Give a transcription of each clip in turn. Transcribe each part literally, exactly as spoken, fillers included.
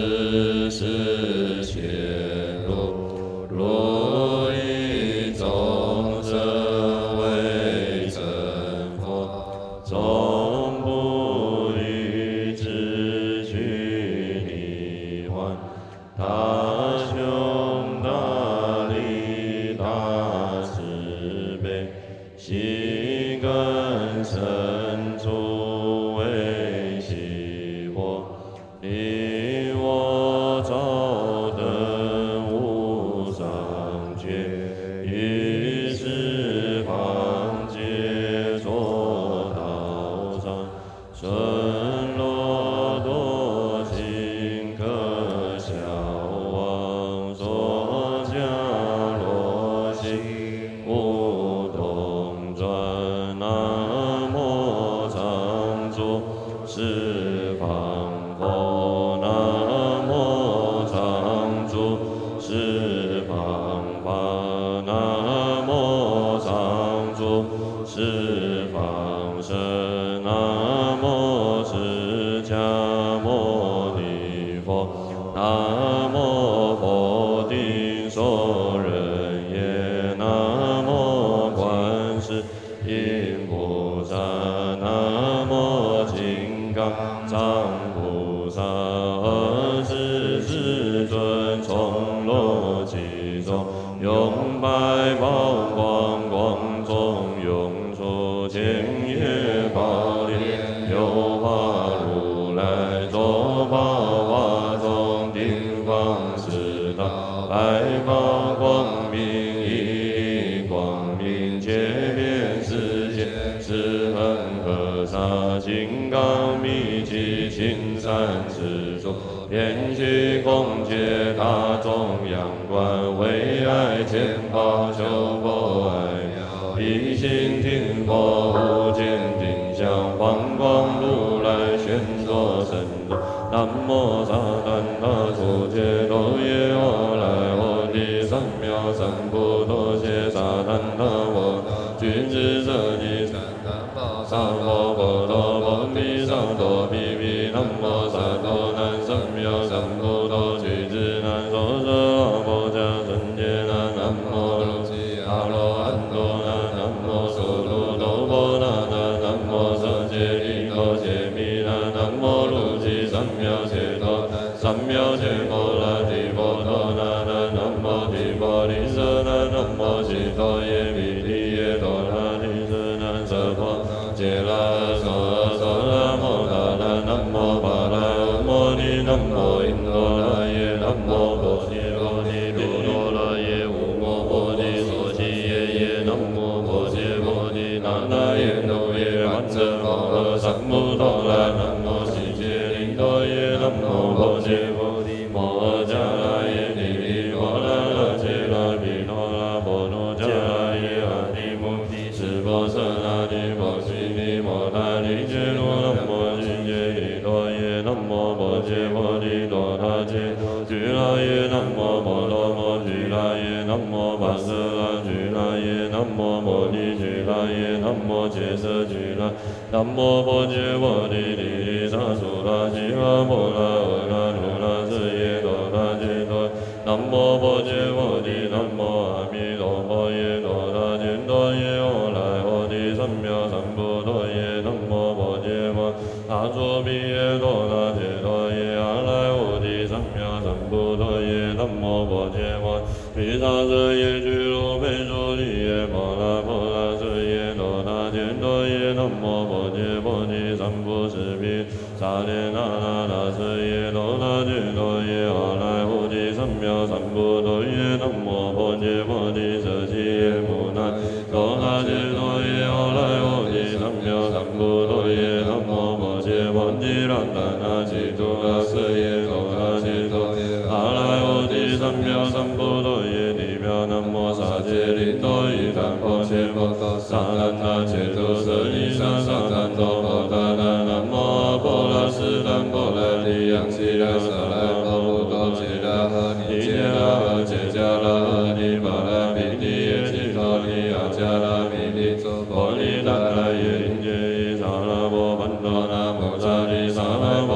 世世切入，如以众生为成佛，终不离自去离幻。大雄大力大慈悲，心根深处为喜活，令我照灯无上觉，于十方皆作道场，顺落多情可消亡，所降落心无动转，南无常住十方佛，南无常住十方法，南无常住十方身，南无释迦牟尼佛，南无佛顶所人也，南无观世音菩萨，南无金刚藏菩萨，二十世尊从罗其中，用百宝光光中涌出，千叶宝莲有化如来，作宝华中顶方四大，百宝光明一光明，界遍世界十分河沙，金刚密集青山之中，遍虚空界大众仰观，为爱钱宝修佛爱妙，一心听佛无间定向，放光如来宣说神咒，南无萨怛那初揭多耶阿赖ô帝三藐三菩提萨怛那我君子舍利三藐八萨婆诃多婆毗萨多毗毗南无萨多南三藐三菩提俱胝南所舍阿婆迦僧伽那南无卢悉阿罗汉多那南无苏卢多婆那那南无舍揭利多揭弥那南无卢悉三藐切多三藐切婆那提婆多那那南无提婆利舍那南无悉多耶弥利耶多那提舍那舍婆揭拉娑娑那摩他那南无巴拉摩尼南无因陀那耶南无波提罗尼卢多那耶无摩波提所悉耶耶南无波揭波提那那耶那耶曼遮摩诃萨摩多那南无悉揭灵多耶南无波揭波提摩迦那耶提提摩那那揭那毗多那波罗迦那耶阿提摩提释波舍那提波悉尼摩那提揭罗南无悉揭利多耶南无波揭波提多他揭俱那耶南无摩罗摩俱那耶南无跋舍那俱那耶南无摩尼俱那耶南无揭舍俱那南无波揭波提利利萨苏拉吉拉摩那阿那努那舍耶多他揭多南无波揭波提南无阿弥陀佛耶多他揭多耶阿赖ô帝三藐三菩提耶南无波揭波他作毗耶多那揭多耶阿赖ô帝三藐三菩提耶南无波揭波毗沙舍耶俱卢吠舍利耶婆那婆那舍耶多那揭多耶南无波揭波提三不施毗萨列那那那舍耶多那揭多耶阿赖ô帝三藐三菩提耶南无波揭波提舍悉耶摩那多那揭多耶阿赖ô帝三藐三菩提耶南无波揭波提那那那揭多那舍耶多那揭多耶阿赖ô帝三藐三菩提耶地表南无萨揭利多伊檀婆揭波萨怛那揭多舍利萨萨怛多婆达那南无阿婆那斯坦婆那利央悉那萨那婆布多揭那哈尼揭那哈揭迦那哈尼巴那毗提耶揭多利亚迦那弥利波利那那耶林揭伊萨那波班多那摩萨利萨那波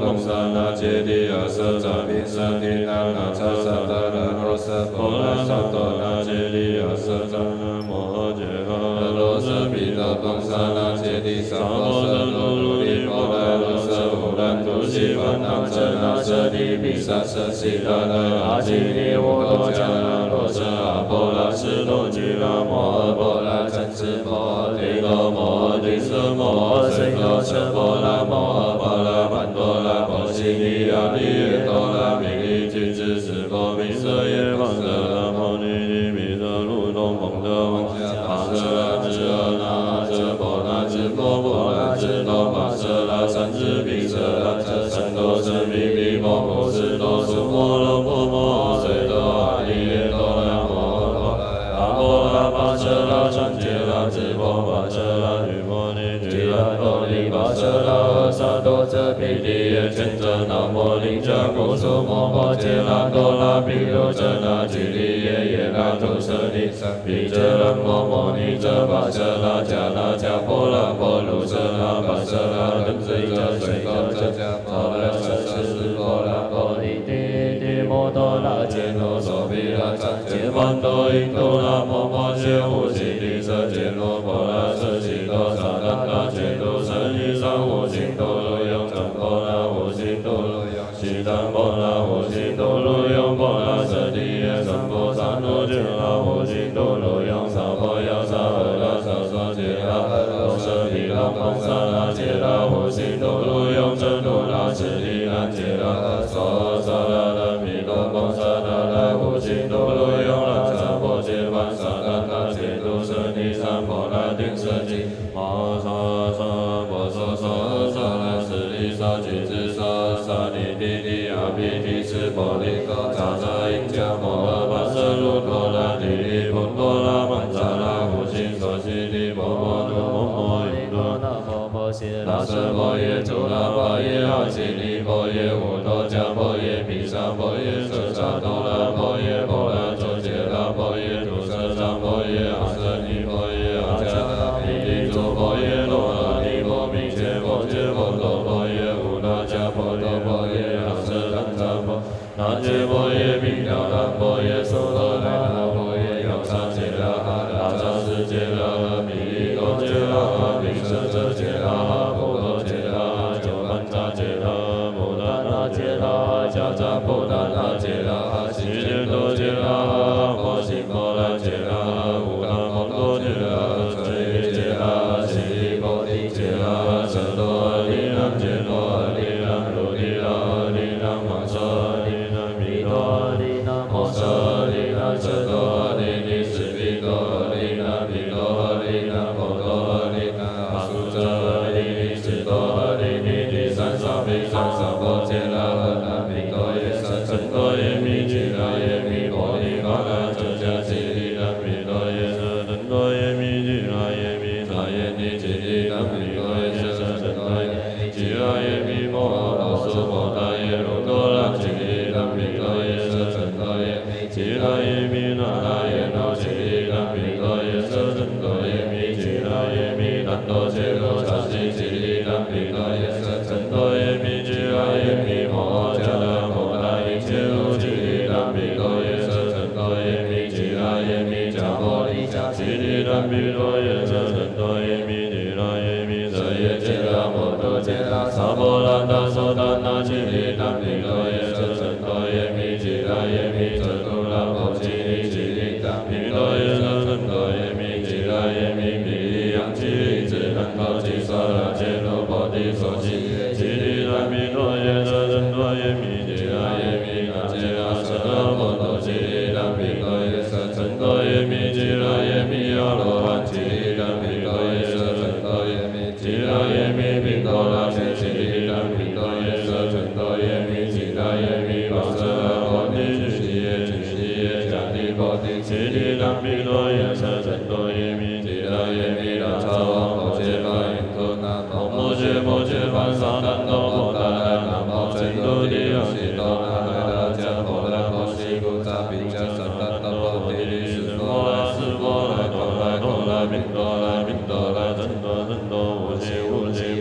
贡萨那揭谛阿舍扎毗舍提那那叉萨达那罗舍婆拉萨多那揭谛阿舍扎那摩揭哈罗舍毗多贡萨那揭谛萨婆舍罗卢尼婆拉罗舍乌兰图西梵那遮那舍利毗萨舍悉达那阿基尼乌多迦那罗舍阿婆拉斯多居拉摩诃婆拉真斯摩诃提多摩诃提舍摩诃悉多舍婆拉摩诃婆拉曼多拉婆悉尼亚利耶多拉毗利俱胝斯婆毗舍耶方舍拉摩尼尼毗舍卢东蒙德王阿舍拉智阿那阿舍婆那智婆婆那智多玛舍拉三智毗舍拉遮三多舍毗毗婆婆斯多苏摩罗婆摩随多阿利耶多拉摩诃阿婆拉巴舍拉三界拉智婆巴舍拉须摩尼俱拉多利巴舍拉阿萨多遮毗利耶权遮那摩利迦古苏摩婆揭拉多拉毗卢遮那俱利耶耶拉图舍利毗遮拉摩摩尼遮巴舍拉迦那迦婆拉婆卢舍那巴舍拉根随遮随遮遮迦婆拉舍舍斯婆拉婆利帝帝摩多拉揭罗娑毗拉赞揭曼多因多拉摩摩揭呼悉地舍揭罗婆拉舍悉多萨达那揭多舍尼桑呼悉多罗拥赞婆拉呼悉多罗拥悉赞婆拉呼悉多罗拥婆拉舍地耶三婆萨罗揭拉呼悉多罗拥萨婆亚萨诃拉萨娑揭拉罗舍毗拉蒙萨那揭拉呼悉多罗拥遮多拉舍利那揭拉娑萨拉拉毗罗蒙萨那拉呼悉多罗拥拉萨婆揭曼萨那那揭多舍尼三婆拉顶舍基玛萨萨婆娑娑萨拉舍利萨俱胝萨萨尼帝帝阿毗提斯婆利萨萨因迦摩诃巴舍卢多拉帝利婆多拉曼萨拉呼悉所悉地婆摩多摩摩因多那摩摩悉拉舍婆耶主拉婆耶阿悉利婆耶无多迦婆耶毗沙婆耶舍萨多拉婆耶婆拉周揭拉婆耶主舍萨婆耶阿舍尼婆耶阿迦那毗利主婆耶罗阿尼婆毗切婆揭婆多婆耶无那迦婆多婆耶阿舍檀迦婆那揭婆耶毗迦那婆耶娑罗那那婆耶ယော萨揭拉哈拉扎斯揭拉哈毗利多揭拉哈毗舍遮揭拉哈婆多揭拉哈九曼扎揭拉哈摩达那揭拉哈迦扎婆达那揭拉哈悉揭多揭拉哈婆悉婆拉揭拉哈无那摩多揭拉哈遮耶揭拉哈悉利婆提揭拉哈舍多阿利那揭多阿利那卢尼那阿利那玛舍阿利那毗多阿利那摩舍阿利那舍多阿利尼斯毗多阿利那毗多阿利那婆多阿利那阿苏遮阿利尼斯多阿利尼第三沙毗三沙婆揭拉哈那毗多耶舍真多耶弥俱拉耶弥婆利嘎那遮迦悉利那毗多耶舍真多耶弥俱拉耶弥那耶尼俱利那毗多耶舍真多耶弥俱拉耶弥摩诃罗娑婆达耶卢多拉俱利那毗多耶舍真多耶弥俱拉耶弥那那耶那俱利那毗多耶舍真多耶弥俱拉耶弥那多揭罗刹悉俱利那毗多耶舍真多耶弥俱拉耶弥摩诃迦那摩那一切路俱利那毗多耶舍真多耶弥俱拉耶弥迦婆利迦俱利那毗多耶舍真多耶弥俱拉耶弥舍耶揭拉摩多揭拉萨婆拉达娑达那俱利那毗多耶舍真多耶弥俱拉耶弥遮度拉婆悉利俱利那毗多耶舍真多耶弥俱拉耶弥毗利央俱利智难婆毗娑拉揭罗婆提所悉俱利那毗多耶舍真多耶弥俱拉耶弥那揭拉舍那婆多俱利那毗多耶舍真多耶弥俱拉耶弥阿罗汉俱利那毗多耶舍真多耶弥俱拉耶弥毗多拉悉俱利那毗多耶舍真多耶弥俱拉耶弥巴舍拉婆提俱利耶俱利耶迦提婆提俱利那毗多耶舍真多耶弥俱拉耶弥那叉王婆揭巴因陀那摩摩揭婆揭梵萨那多婆达那那摩真多地亚悉多那那那迦婆那婆悉故扎毗迦萨那多婆提利斯婆拉斯婆拉多拉多拉宾多拉宾多拉真多真多无悉无悉梵扎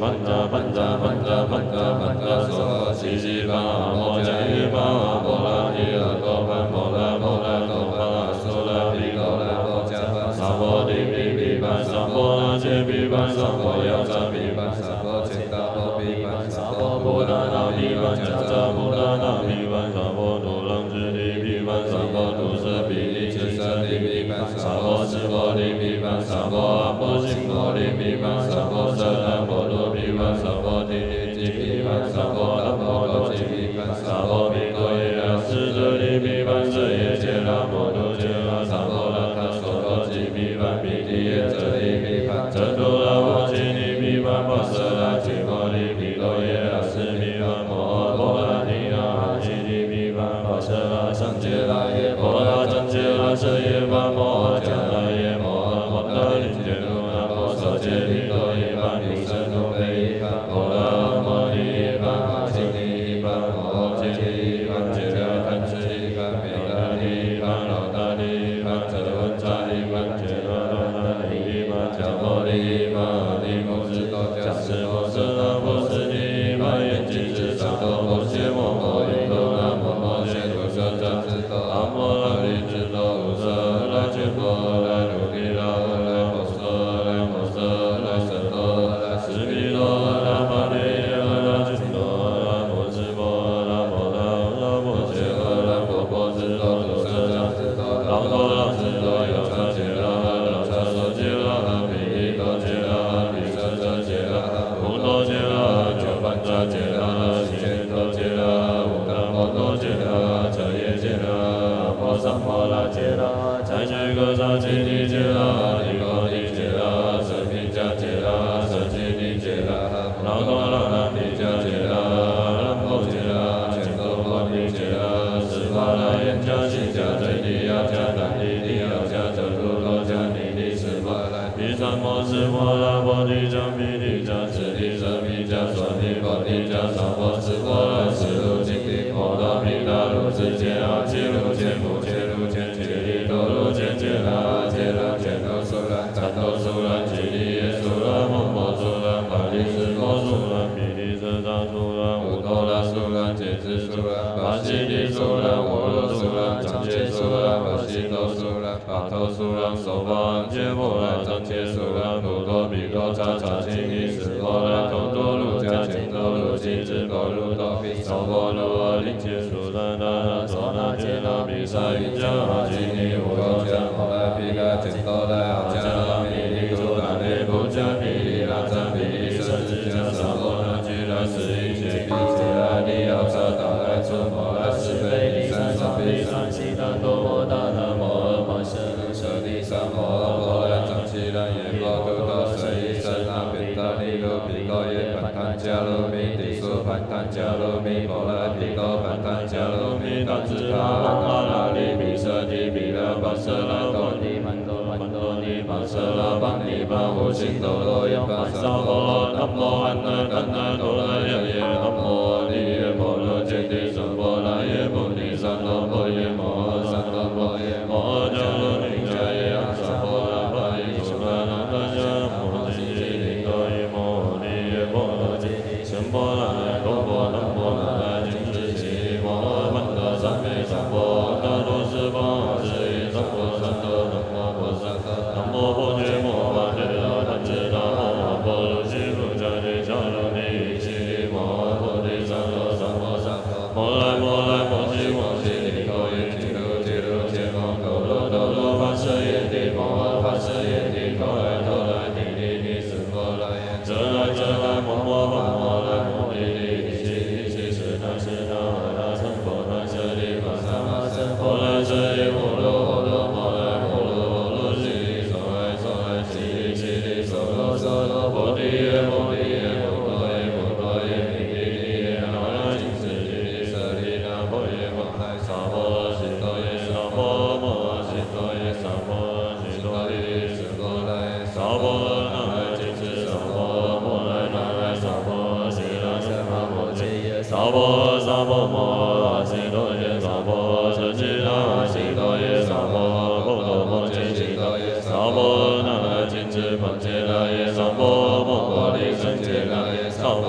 班扎班扎班扎班扎梭西西巴摩迦伊巴摩拉尼阿多班摩拉摩拉多巴苏拉比高拉摩迦巴萨摩地比比班萨摩拉切比班萨摩亚扎比班萨摩切达摩比班萨摩布达那比班迦扎布达那比班萨摩杜朗智地比班萨摩杜舍比利智舍地比班萨摩智摩地比班萨摩阿摩心摩地比班萨摩舍那摩罗比班萨摩地地地比班萨摩阿摩罗地比班萨摩比多耶拉斯者地比班舍耶切拉摩多切拉萨摩拉卡索多地比班比地耶者地比班者多拉摩基地比班巴舍拉基摩地比多耶拉斯比班摩摩拉尼亚基地比班巴舍拉桑杰拉耶摩拉桑杰拉舍耶巴摩迦拉耶摩摩达林杰鲁那摩所杰比多耶班比舍多贝班摩拉摩尼班基地班摩基地班杰拉班智地班比达地班老达地班泽文扎地班杰拉达地班迦摩地班地摩斯多迦斯摩斯那摩斯地班眼睛是萨多摩羯摩摩伊多那摩摩羯多舍扎斯多阿摩拉利智多乌舍拉切波拉鲁地拉拉摩舍拉摩舍拉舍多拉斯比多拉玛利拉拉智多拉摩智波拉摩拉拉摩羯拉摩波智多多舍扎斯多拉多拉智多有萨杰拉拉萨所杰拉比多杰拉比舍舍杰拉无多杰拉九班扎杰拉西千多杰拉无达摩多杰拉彻夜杰拉摩萨摩拉杰拉在居格萨基尼杰拉尼高尼杰拉舍皮迦杰拉舍基尼杰拉拉多拉拉尼迦杰拉拉摩杰拉千多摩尼杰拉斯巴拉耶迦西迦最地亚迦丹地地亚迦遮图多迦尼尼斯巴拉比萨摩斯摩拉波提迦比提迦次提舍米迦娑尼波提迦萨摩斯摩拉斯卢金提摩多毗达卢智杰阿基卢杰姆杰卢杰杰利多卢杰杰拉杰拉杰多苏拉赞多苏拉吉利耶苏拉摩摩苏拉玛利斯摩苏拉毗利舍扎苏拉乌多拉苏拉杰兹苏拉巴西利苏拉摩罗苏拉张杰苏拉巴西多苏拉巴托苏拉索巴杰摩拉张杰苏拉摩多比多查查基尼斯摩拉多多卢迦钱多卢基兹波卢多比索波卢阿林杰苏拉达拉索那杰拉比萨因迦阿基尼乌多迦摩拉皮嘎钱多拉阿迦拉米利苏拉内布迦比利拉扎比利舍智迦萨摩那吉拉斯因杰比杰拉利奥萨达拉祖摩拉斯贝利三萨比三西达多摩达那摩尔摩舍卢舍利萨摩尔摩拉张西拉耶摩多多舍伊舍那比达利卢比多耶盘坦迦卢米地苏盘坦迦卢米摩拉比多盘坦迦卢米达智他摩拉利比舍地比拉巴舍拉多尼曼多曼多尼巴舍拉巴尼巴无心多罗耶巴萨摩南摩安那丹那多拉耶耶南摩利耶摩罗揭谛娑婆拉耶菩提萨埵婆耶摩萨埵婆耶摩迦罗尼迦耶阿萨婆拉巴耶苏拉那达迦摩揭谛利多耶摩利耶摩罗揭谛sem波拉耶多波南波那拉金智悉摩曼多三昧三波大多斯巴斯耶三波三多南摩婆萨南摩婆揭摩巴揭拉怛智那摩波罗揭卢迦揭迦卢尼悉摩婆提萨埵三摩萨摩来摩来摩悉摩悉尼多耶揭卢揭卢揭摩多罗多罗跋舍耶帝摩跋舍耶帝多来多来尼尼尼斯摩来耶遮来遮来摩摩摩摩来摩尼尼悉尼悉是那是那那僧婆那舍利玛萨玛僧婆来舍利摩罗摩罗摩来摩罗摩罗悉尼娑来娑来悉尼悉尼娑罗娑罗菩提耶菩提耶摩多耶摩多耶尼尼尼耶那那金斯悉尼舍利那婆耶摩来萨婆悉多耶萨婆摩悉多耶萨婆悉多耶斯摩来萨婆那来金斯萨婆摩来那来萨婆悉那舍那摩揭耶萨婆萨婆摩悉多耶萨婆舍悉那悉多耶萨婆波罗摩揭悉多耶萨婆那来金斯摩揭那耶萨婆摩婆利胜揭那耶萨婆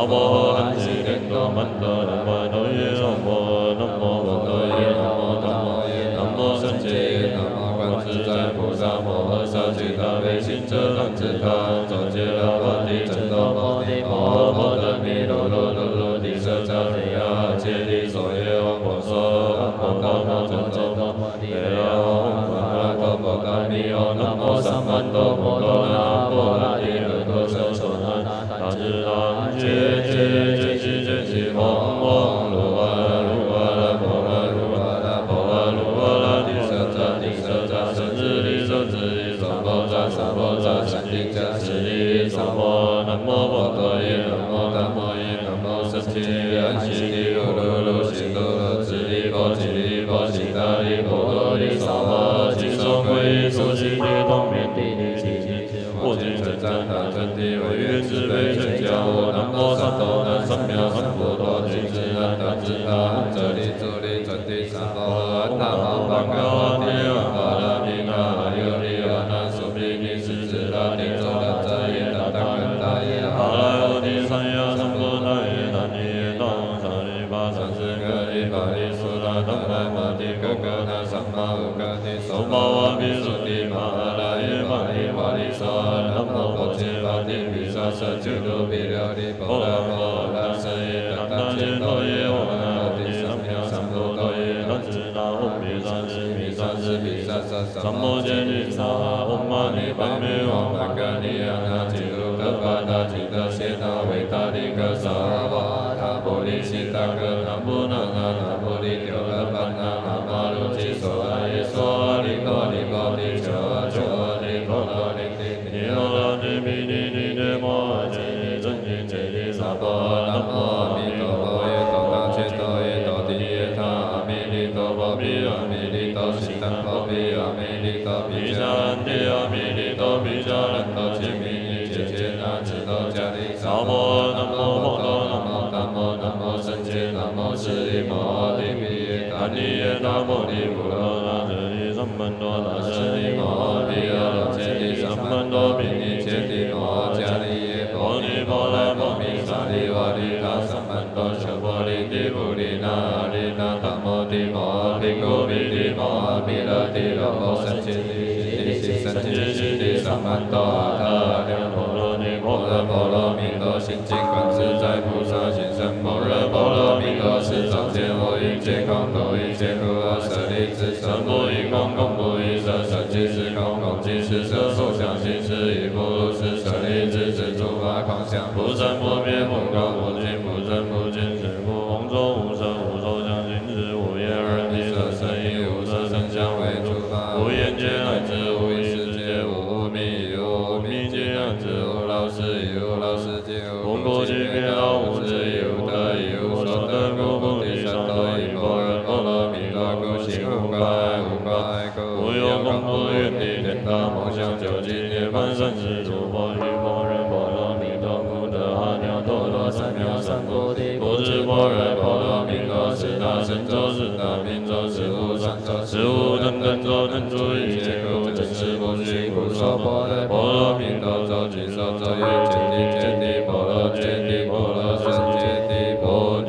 摩安吉莲多曼多南无多耶南无南无多耶南无南无南无圣洁南无观自在菩萨摩诃萨吉他悲心遮难自他周揭罗波提真多波提摩诃波罗蜜罗罗罗罗提舍迦利亚揭谛所耶王婆娑阿婆多摩真多摩提耶阿阿多摩达米吽南无三曼多摩多那波那提尔多舍所那大智大觉觉觉知觉知嗡嗡噜哇噜哇啦波啦噜哇啦波啦噜哇啦提舍迦提舍迦生日利生日利三波扎三波扎三地迦十地三波南无波多耶南无南无耶南无圣洁安息地罗罗罗西罗罗智利波吉利波吉达利波罗利萨摩吉松归苏西地东面地利吉吉我今真赞他真谛为愿慈悲真教我南无三多南三藐三菩提金智安达智他这里这里真谛三波安那哈巴嘎哇提阿巴拉米那尤利阿那苏比尼斯智拉尼周拉扎耶达达根达耶阿拉欧提三亚三波那耶那尼耶当萨利巴三世格利巴利苏拉当来马提格格那三马乌格提苏巴瓦比苏提马拉耶巴利瓦利萨南无波切巴提比萨舍俱卢比了利波拉波拉舍耶达达切多耶瓦那提三藐三菩提那智那唵比萨智比萨智比萨萨三摩揭谛萨唵嘛呢叭咪吽嘛嘎尼呀那吉鲁格巴达吉德谢那维达利格萨瓦塔波利西达格南无那那那波利丢勒巴那那玛鲁吉索阿耶娑阿利多利波利求阿求阿利多罗利提尼罗拉提比尼尼尼摩揭谛真言揭谛萨婆南无阿弥陀佛耶多达切多耶多提耶他阿弥利多波比阿弥利多悉达波比阿弥利多比迦兰提阿弥利多比迦兰多切弥尼切切那智多迦利萨婆南无摩多南无南无南无圣洁南无释利摩提比耶达尼耶达摩利普罗那舍利三曼多那舍利摩提阿罗切利三曼多比尼切提摩迦利耶波尼波来波米萨利瓦利他三曼多舍波利提普利那利那达摩提摩毗古毗提摩毗勒提罗摩三千提提西三千西提三曼多阿他两波罗尼波罗波罗蜜多心经观自在菩萨行深般若波罗蜜多是照见我一切空头一切苦厄舍利子身不异空空不异色身即是空空即是色受想行识亦不如是舍利子是诸法空相不生不灭不垢不净不生不净是故空中无色无受想行识无眼耳鼻舌身意无色声香味触法无眼界乃至无意识界无无明亦无无明界乃至无老死亦无老死界无不寂灭道无智亦无得亦无所得故菩提萨埵依般若波罗蜜多故行无挂碍无挂碍故无有功不愿地天大梦想究竟涅槃生死诸佛依般若波罗蜜多故得阿耨多罗三藐三菩提不知般若波罗蜜多是大神咒是大明咒是无上咒是无等等咒能住一切苦真实不虚故说般若波罗蜜多咒具受咒曰揭谛揭谛波罗揭谛波罗僧揭谛波提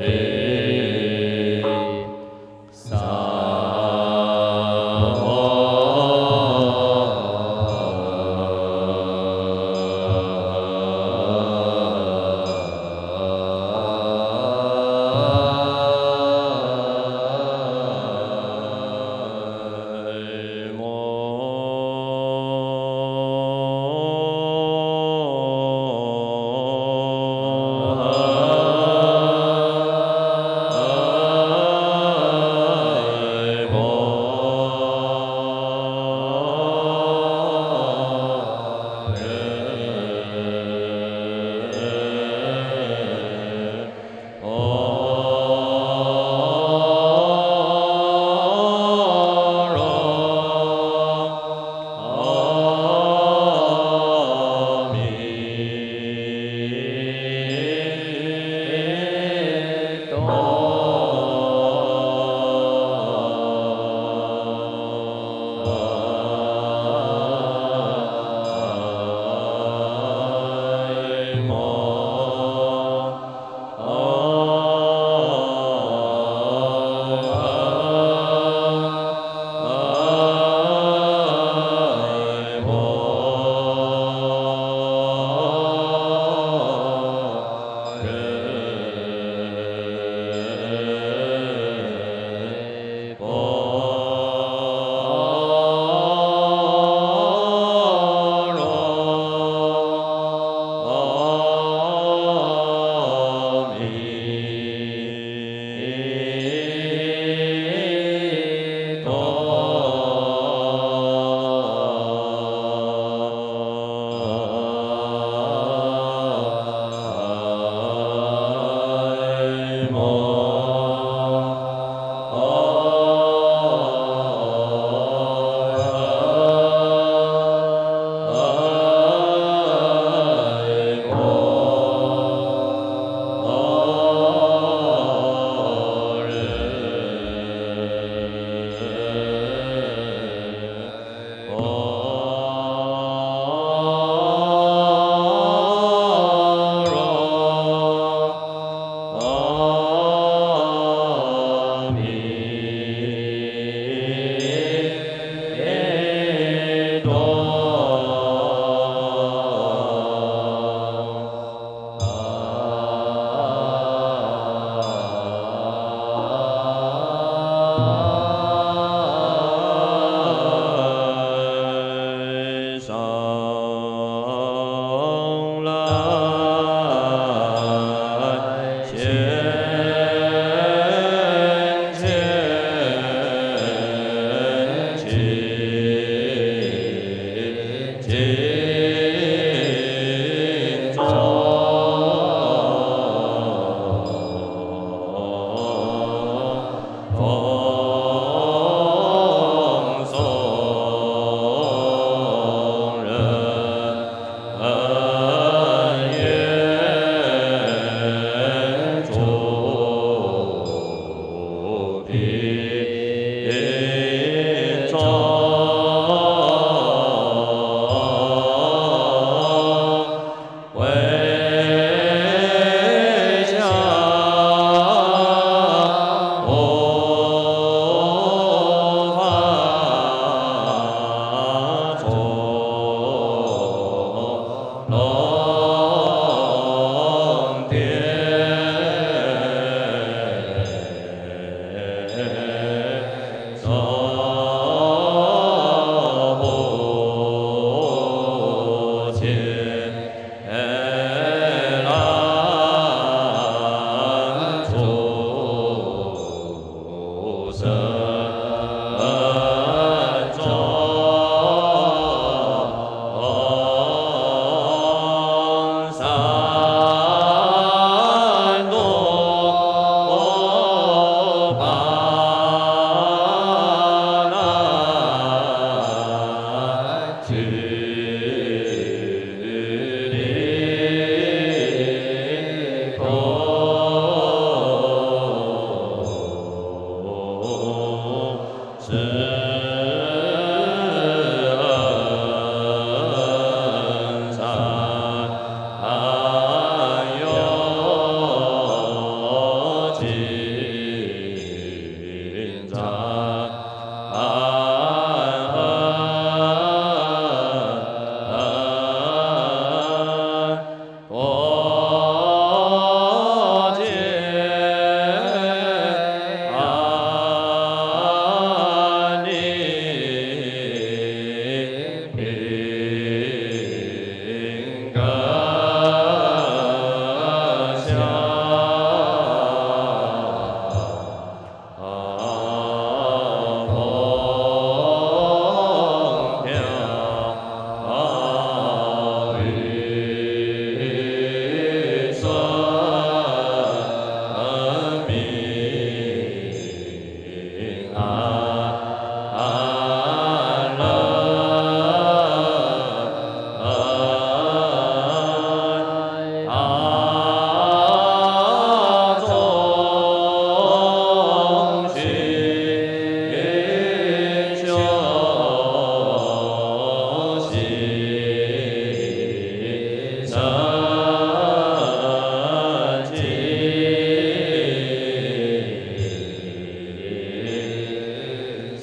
萨唵。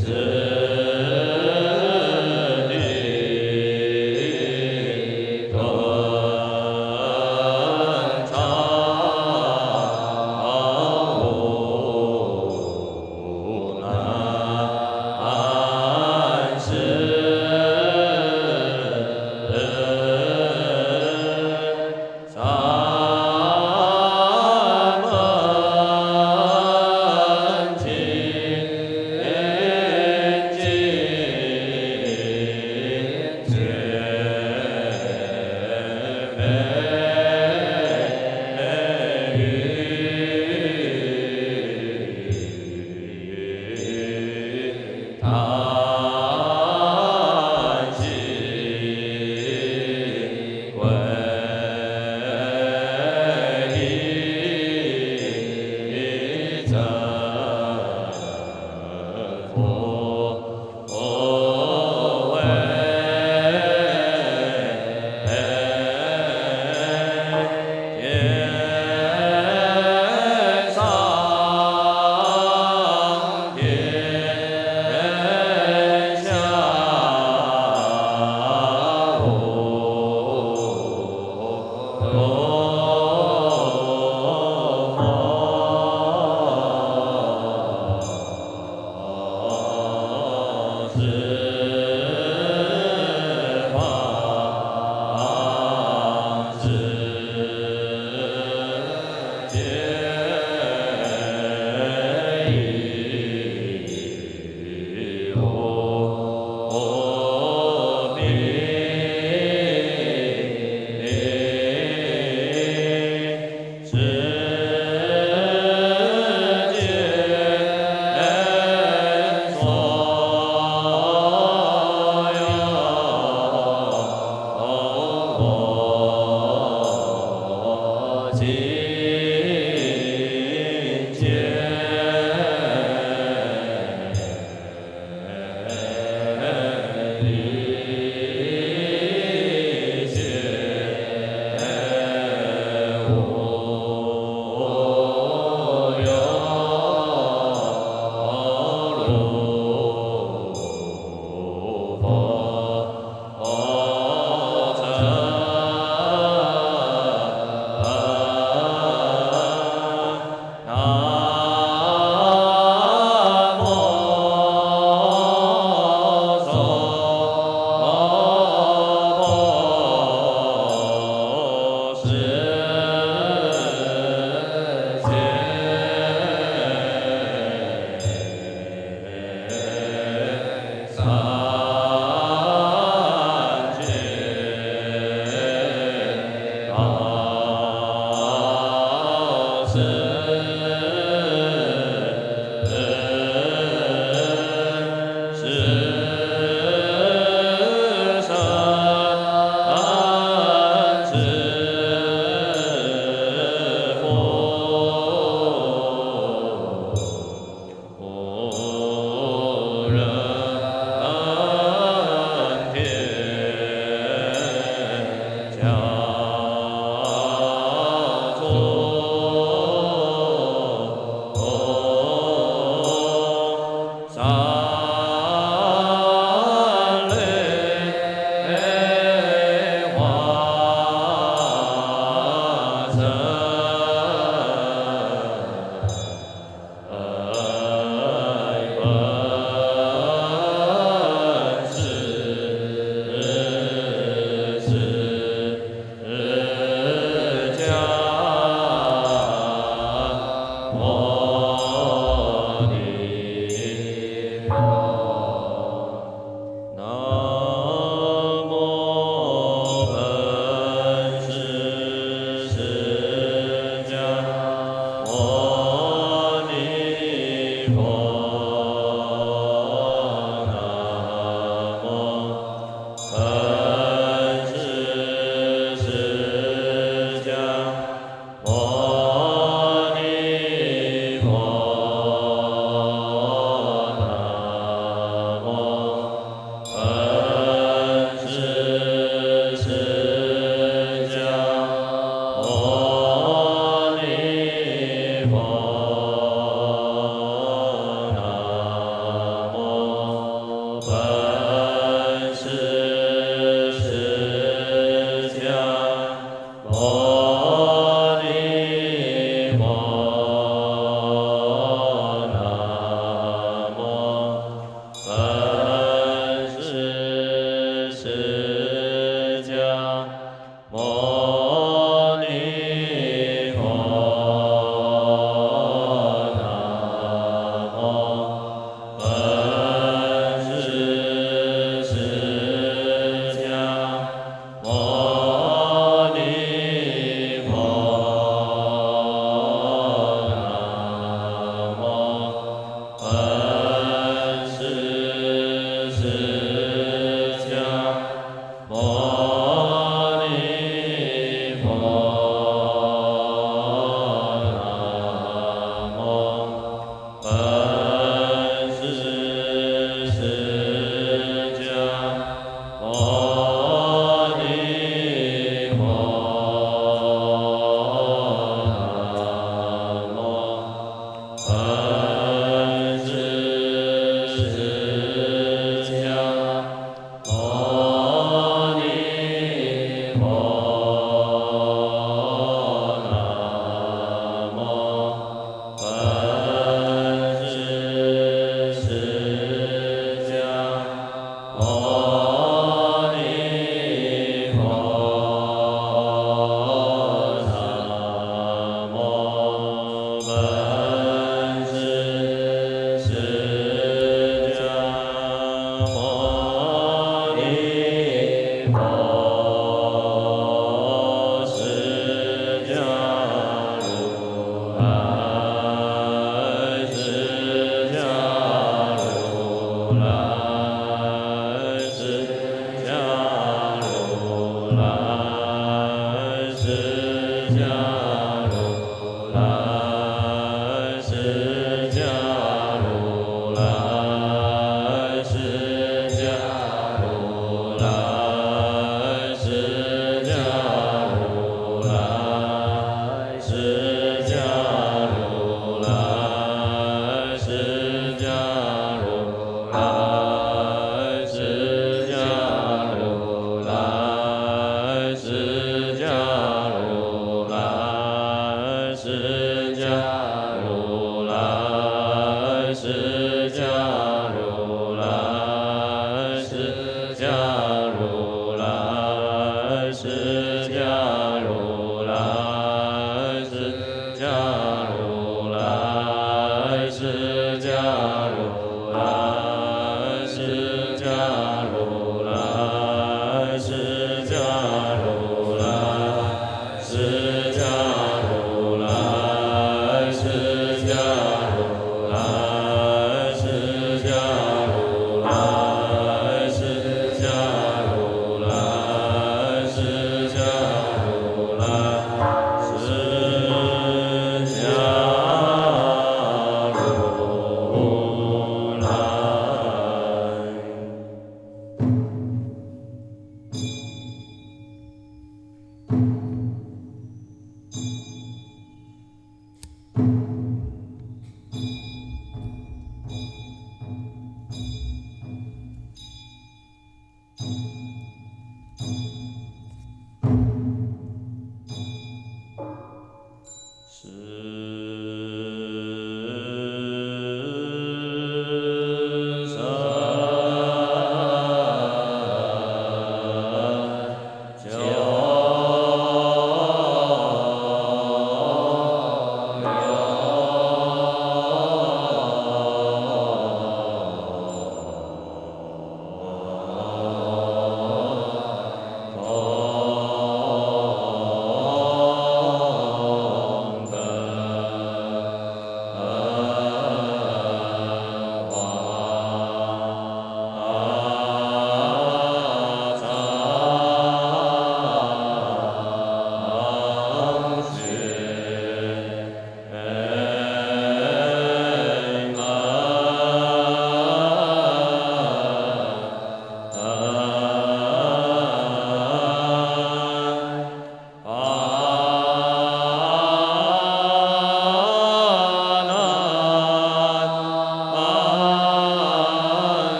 啊。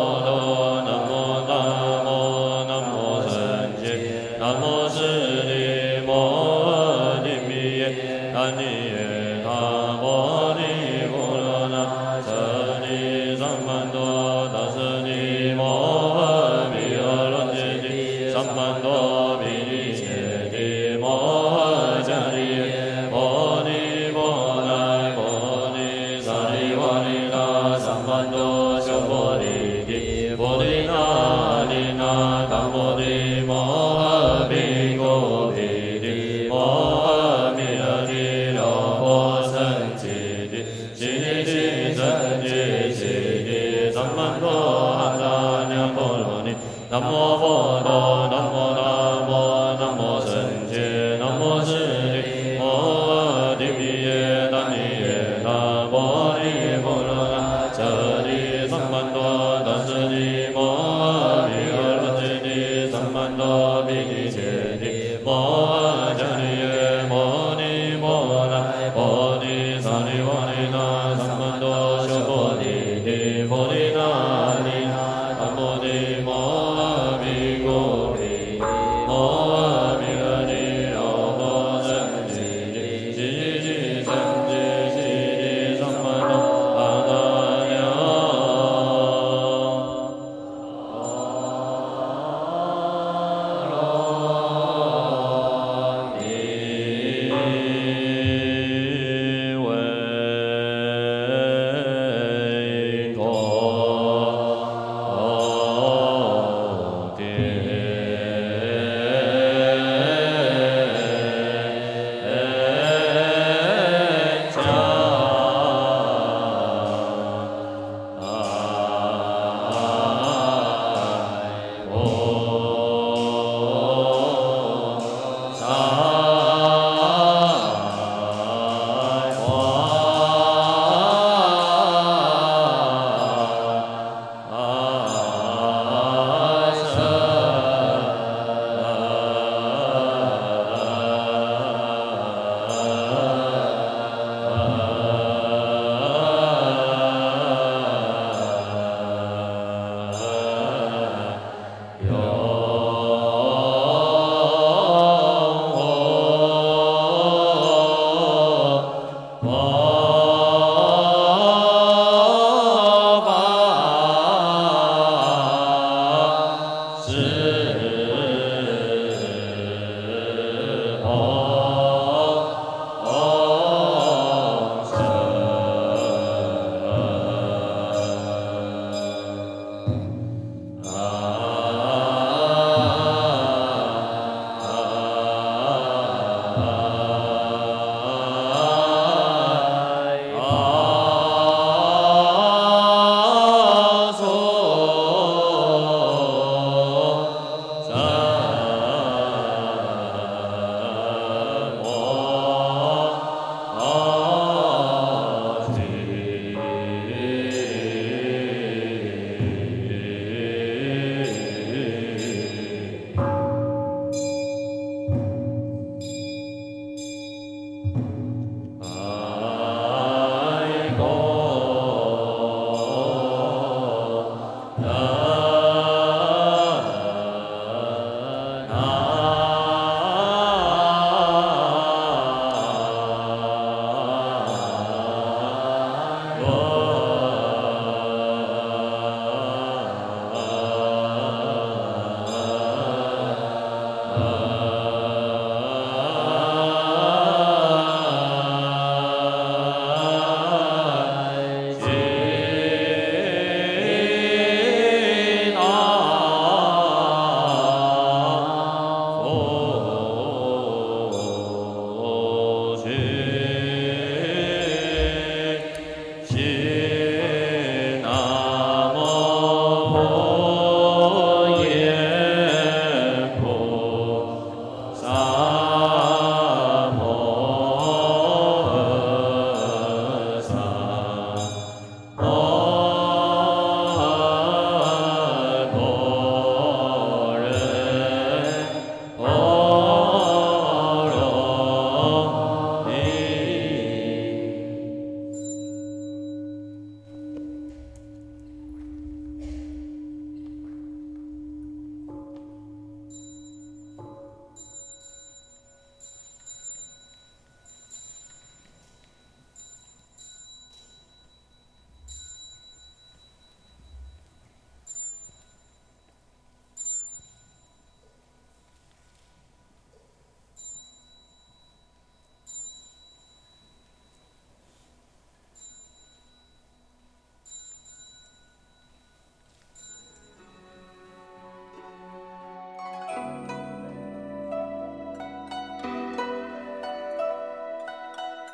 多，南无大摩南无僧伽，南无释利摩尼密耶，南无耶他波尼波罗那舍利三曼多，达舍利摩毗诃罗揭谛，三曼多毗梨揭谛，摩迦利耶，波尼波那波尼萨利瓦利那，三曼多修波利地，波利那利那，达摩地摩诃毗古毗地，摩诃弥勒地罗波僧揭谛，悉地悉僧揭悉地，三曼多阿达娘波罗尼，南无佛陀，南无大摩，南无僧伽，南无释利摩尼密耶，南无耶他波尼波罗那舍利三曼多，达舍利摩诃毗诃罗揭谛，三曼多毗梨揭谛，摩迦利耶，摩尼摩那波尼萨利瓦利那，三曼多修波利地，波利那利那，达摩地摩诃毗古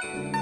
Thank